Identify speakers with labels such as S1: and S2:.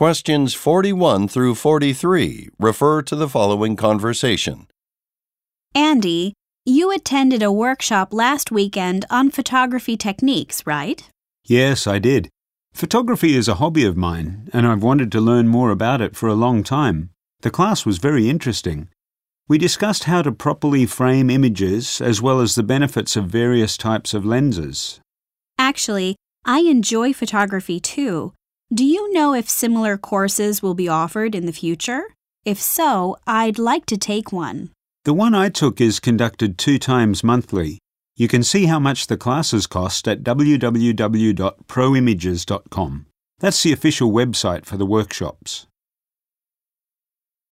S1: Questions 41 through 43 refer to the following conversation.
S2: Andy, you attended a workshop last weekend on photography techniques, right?
S3: Yes, I did. Photography is a hobby of mine, and I've wanted to learn more about it for a long time. The class was very interesting. We discussed how to properly frame images as well as the benefits of various types of lenses.
S2: Actually, I enjoy photography too. Do you know if similar courses will be offered in the future? If so, I'd like to take one.
S3: The one I took is conducted 2 times monthly. You can see how much the classes cost at www.proimages.com. That's the official website for the workshops.